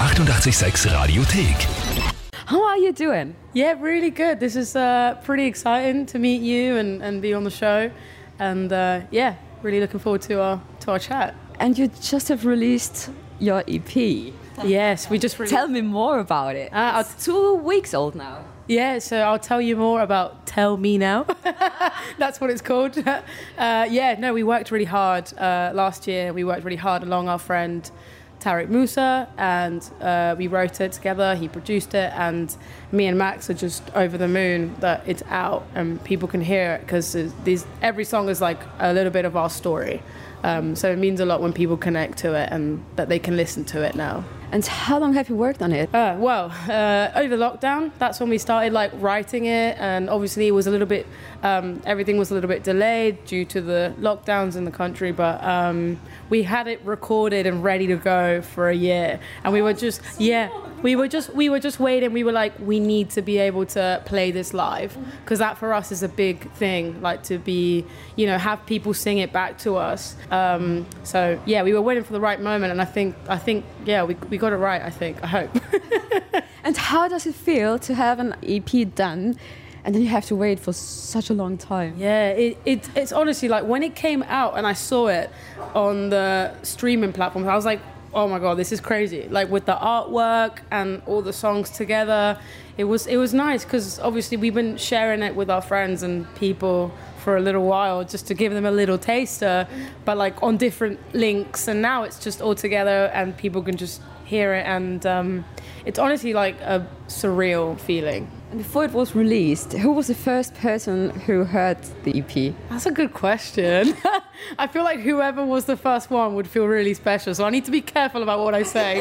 886 Radiothek. How are you doing? Yeah, really good. This is pretty exciting to meet you and be on the show. And yeah, really looking forward to our chat. And you just have released your EP. Yes, we just released. Tell me more about it. It's 2 weeks old now. Yeah, so I'll tell you more about Tell Me Now. That's what it's called. Yeah, no, we worked really hard last year. We worked really hard along our friend Tariq Musa, and we wrote it together. He produced it, and me and Max are just over the moon that it's out and people can hear it, because every song is like a little bit of our story. So it means a lot when people connect to it and that they can listen to it now. And how long have you worked on it? Well, over lockdown, that's when we started like writing it, and obviously it was a little bit, everything was a little bit delayed due to the lockdowns in the country, but we had it recorded and ready to go for a year, and we were just, we were just waiting. We were like, we need to be able to play this live, because that for us is a big thing, like to be, have people sing it back to us. So yeah, we were waiting for the right moment, and I think yeah, we got it right, I hope. And how does it feel to have an EP done and then you have to wait for such a long time? Yeah, it's honestly like when it came out and I saw it on the streaming platforms, I was like, oh my God, this is crazy. Like with the artwork and all the songs together, it was nice, because obviously we've been sharing it with our friends and people for a little while just to give them a little taster, but like on different links, and now it's just all together and people can just hear it, and it's honestly like a surreal feeling. And before it was released, who was the first person who heard the EP? That's a good question. I feel like whoever was the first one would feel really special, so I need to be careful about what I say.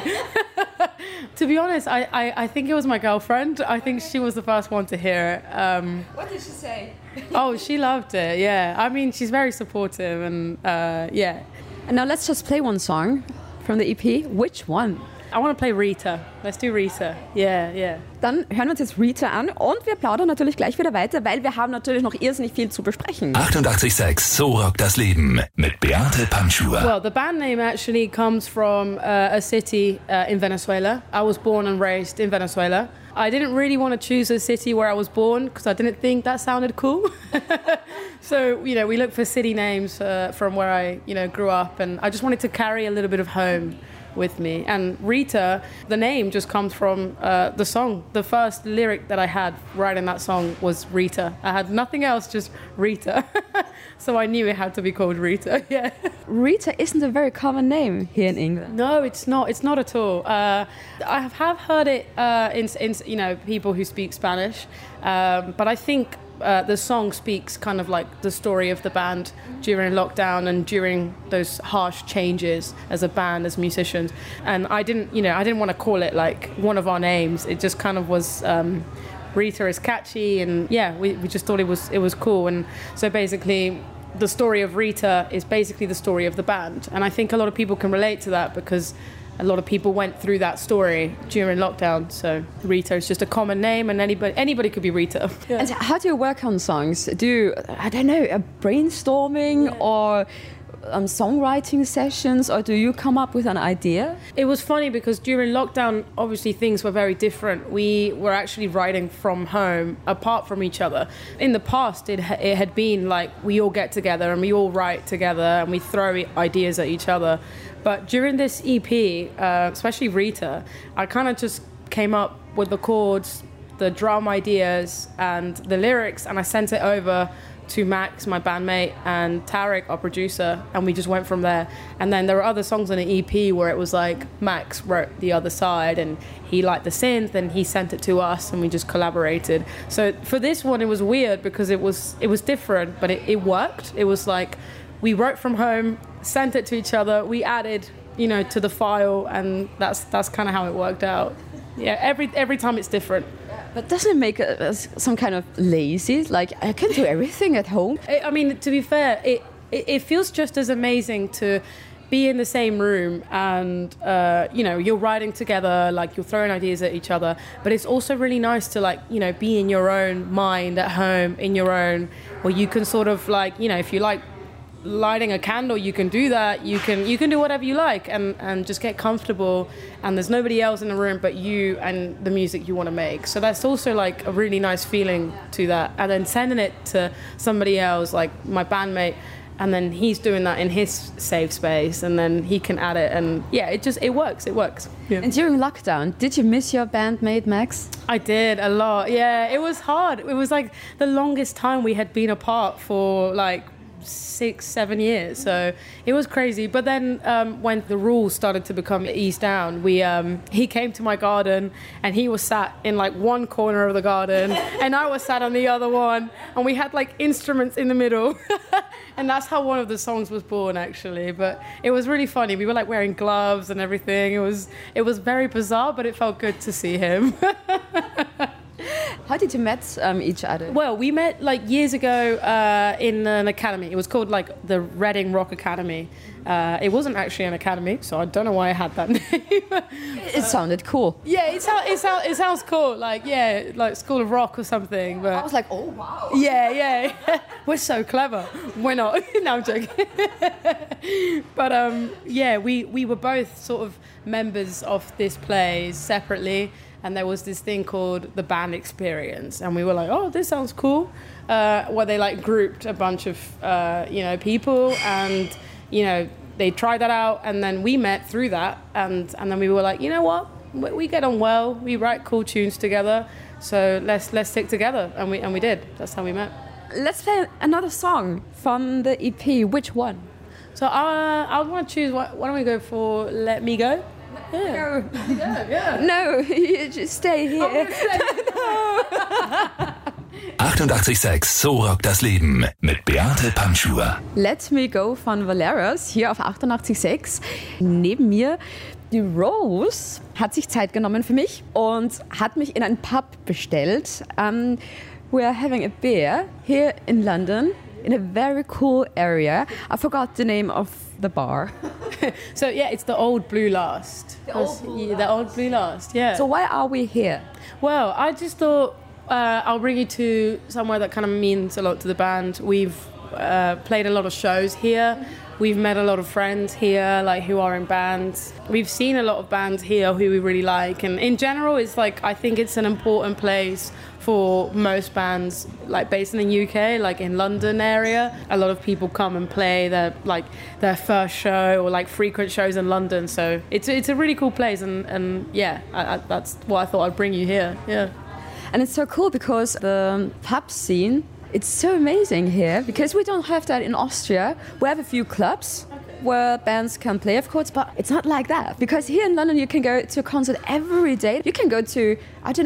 To be honest, I think it was my girlfriend. I think she was the first one to hear it. What did she say? Oh, she loved it, yeah. I mean, she's very supportive, and yeah. And now let's just play one song from the EP. Which one? I want to play Rita. Let's do Rita. Yeah. Dann hören wir uns jetzt Rita an und wir plaudern natürlich gleich wieder weiter, weil wir haben natürlich noch irrsinnig viel zu besprechen. 886 So rockt das Leben mit Beate Panschur. Well, the band name actually comes from a city in Venezuela. I was born and raised in Venezuela. I didn't really want to choose a city where I was born because I didn't think that sounded cool. So, we looked for city names from where I, grew up, and I just wanted to carry a little bit of home with me. And Rita, the name just comes from the song. The first lyric that I had writing that song was Rita. I had nothing else, just Rita. So I knew it had to be called Rita. Yeah. Rita isn't a very common name here in England. No, it's not. It's not at all. I have heard it in people who speak Spanish, but I think the song speaks kind of like the story of the band during lockdown and during those harsh changes as a band, as musicians. And I didn't want to call it like one of our names. It just kind of was. Rita is catchy, and yeah, we just thought it was cool. And so basically, the story of Rita is basically the story of the band, and I think a lot of people can relate to that because a lot of people went through that story during lockdown. So Rita is just a common name, and anybody could be Rita. Yeah. And how do you work on songs? Do you, I don't know, a brainstorming or songwriting sessions, or do you come up with an idea? It was funny because during lockdown, obviously things were very different. We were actually writing from home, apart from each other. In the past, it had been like we all get together and we all write together and we throw ideas at each other. But during this EP, especially Rita, I kind of just came up with the chords, the drum ideas and the lyrics, and I sent it over to Max, my bandmate, and Tariq, our producer, and we just went from there. And then there were other songs on the EP where it was like Max wrote the other side and he liked the synth and he sent it to us and we just collaborated. So for this one it was weird because it was different, but it worked. It was like we wrote from home, sent it to each other, we added, to the file, and that's kind of how it worked out. Yeah, every time it's different. But doesn't it make us some kind of lazy? Like, I can do everything at home. I mean, to be fair, it feels just as amazing to be in the same room and, you're writing together, like you're throwing ideas at each other. But it's also really nice to be in your own mind at home, in your own, where you can sort of if you like lighting a candle, you can do that. You can do whatever you like and just get comfortable. And there's nobody else in the room but you and the music you want to make. So that's also like a really nice feeling to that. And then sending it to somebody else, like my bandmate, and then he's doing that in his safe space, and then he can add it, and yeah, it works. Yeah. And during lockdown, did you miss your bandmate Max? I did a lot. Yeah, it was hard. It was like the longest time we had been apart for like 6-7 years, so it was crazy. But then when the rules started to become eased down, he came to my garden and he was sat in like one corner of the garden and I was sat on the other one, and we had like instruments in the middle and that's how one of the songs was born, actually. But it was really funny. We were like wearing gloves and everything. It was very bizarre, but it felt good to see him. How did you met each other? Well, we met like years ago in an academy. It was called like the Reading Rock Academy. It wasn't actually an academy, so I don't know why I had that name. It sounded cool. Yeah, it sounds cool. Like, yeah, like School of Rock or something. But I was like, oh wow. Yeah. We're so clever. We're not. No, I'm joking. But yeah, we were both sort of members of this play separately. And there was this thing called the band experience. And we were like, oh, this sounds cool. Where they like grouped a bunch of, people, and, they tried that out. And then we met through that. And then we were like, you know what? We get on well. We write cool tunes together. So let's stick together. And we did. That's how we met. Let's play another song from the EP. Which one? So I want to choose, why don't we go for Let Me Go? Yeah. No, you just stay here. No. 88,6 So rockt das Leben mit Beate Panschur. Let Me Go von Valeros hier auf 88,6. Neben mir die Rose hat sich Zeit genommen für mich und hat mich in einen Pub bestellt. We are having a beer here in London in a very cool area. I forgot the name of the bar. So yeah, it's the Old Blue Last. The Old Blue Last, yeah. So why are we here? Well, I just thought I'll bring you to somewhere that kind of means a lot to the band. We've played a lot of shows here. We've met a lot of friends here, like who are in bands. We've seen a lot of bands here who we really like, and in general, it's like I think it's an important place for most bands, like based in the UK, like in London area. A lot of people come and play their first show or like frequent shows in London. So it's a really cool place, and yeah, that's why I thought I'd bring you here. Yeah. And it's so cool because the pub scene, it's so amazing here because we don't have that in Austria. We have a few clubs where bands can play, of course, but it's not like that. Because here in London, you can go to a concert every day. You can go to,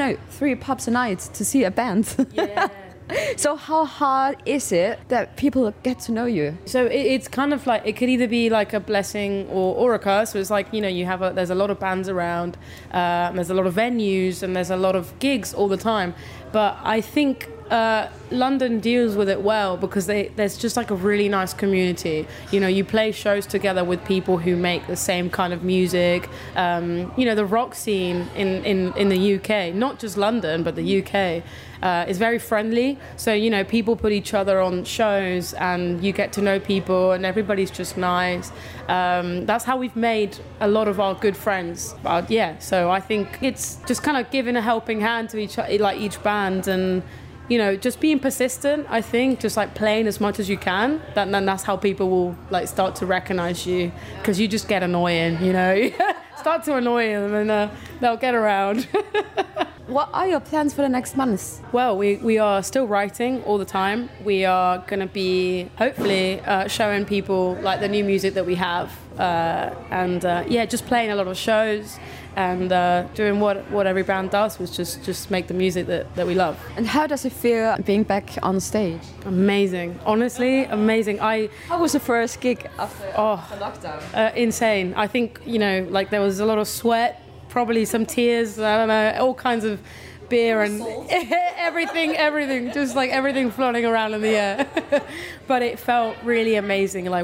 3 pubs a night to see a band. Yeah. So how hard is it that people get to know you? So it's kind of like, it could either be like a blessing or a curse. So it's like, there's a lot of bands around, there's a lot of venues, and there's a lot of gigs all the time. But I think London deals with it well because there's just like a really nice community. You play shows together with people who make the same kind of music. The rock scene in the UK, not just London, but the UK, is very friendly. So, people put each other on shows and you get to know people and everybody's just nice. That's how we've made a lot of our good friends. But yeah, so I think it's just kind of giving a helping hand to each band and, just being persistent, I think, just like playing as much as you can. Then that's how people will like start to recognize you, because you just get annoying, Start to annoy them and they'll get around. What are your plans for the next months? Well, we are still writing all the time. We are going to be hopefully showing people like the new music that we have, and just playing a lot of shows and doing what every band does, which is just make the music that we love. And how does it feel being back on stage? Amazing, honestly, amazing. How was the first gig after the lockdown? Insane. I think there was a lot of sweat, probably some tears, I don't know, all kinds of beer and everything, just like everything floating around in the air. But it felt really amazing. Like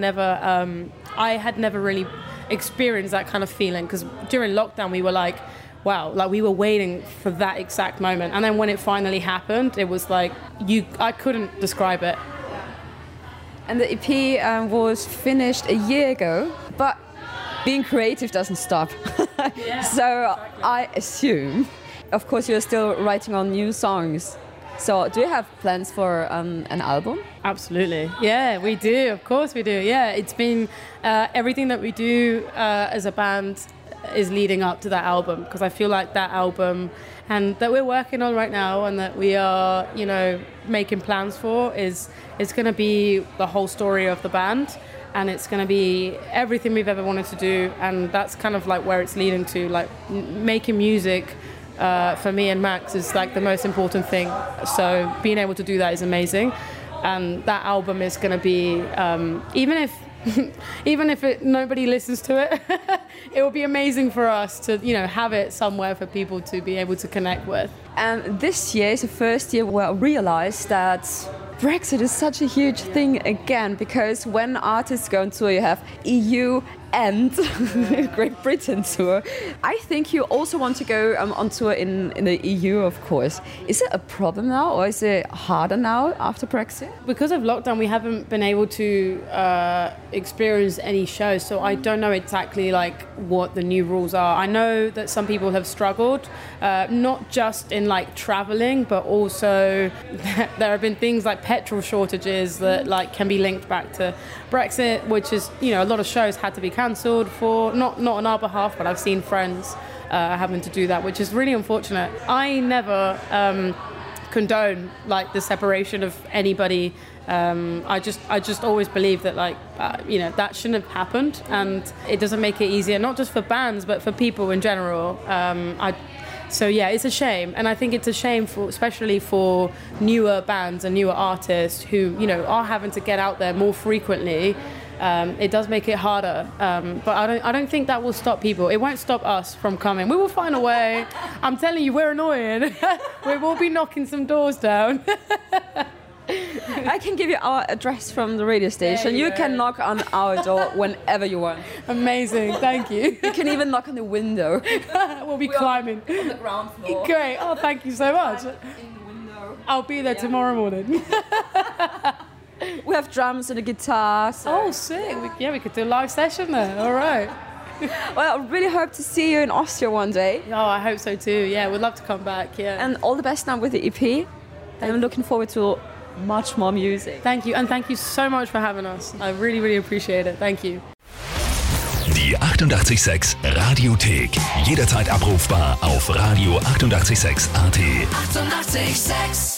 I had never really experienced that kind of feeling, because during lockdown we were like, wow, like we were waiting for that exact moment. And then when it finally happened, it was like, I couldn't describe it. And the EP was finished a year ago, but being creative doesn't stop. So I assume, of course, you're still writing on new songs. So do you have plans for an album? Absolutely. Yeah, we do. Of course we do. Yeah, it's been everything that we do as a band is leading up to that album, because I feel like that album and that we're working on right now and that we are, making plans for is going to be the whole story of the band, and it's going to be everything we've ever wanted to do, and that's kind of like where it's leading to. Like making music for me and Max is like the most important thing. So being able to do that is amazing, and that album is going to be even if nobody listens to it, it will be amazing for us to, have it somewhere for people to be able to connect with. And this year is the first year where I realized that Brexit is such a huge thing again, because when artists go on tour, you have EU and Great Britain tour. I think you also want to go on tour in the EU, of course. Is it a problem now, or is it harder now after Brexit? Because of lockdown, we haven't been able to experience any shows, so I don't know exactly like what the new rules are. I know that some people have struggled, not just in like traveling, but also there have been things like petrol shortages that like can be linked back to Brexit, which is, a lot of shows had to be cancelled for, not on our behalf, but I've seen friends having to do that, which is really unfortunate. I never condone like the separation of anybody. I just always believe that that shouldn't have happened, and it doesn't make it easier, not just for bands, but for people in general. So yeah, it's a shame, and I think it's a shame especially for newer bands and newer artists who are having to get out there more frequently. It does make it harder, but I don't think that will stop people. It won't stop us from coming. We will find a way. I'm telling you, we're annoying. We will be knocking some doors down. I can give you our address from the radio station. You can knock on our door whenever you want. Amazing, thank you. You can even knock on the window. We'll be climbing. On the ground floor. Great, oh thank you so much. In the window. I'll be there tomorrow morning. We have drums and a guitar. So. Oh, sick. We could do a live session there. All right. Well, I really hope to see you in Austria one day. Oh, I hope so too. Yeah, we'd love to come back. Yeah. And all the best now with the EP. And I'm looking forward to much more music. Thank you, and thank you so much for having us. I really, really appreciate it. Thank you. Die 88,6 Radiothek. Jederzeit abrufbar auf radio886.at. 88,6.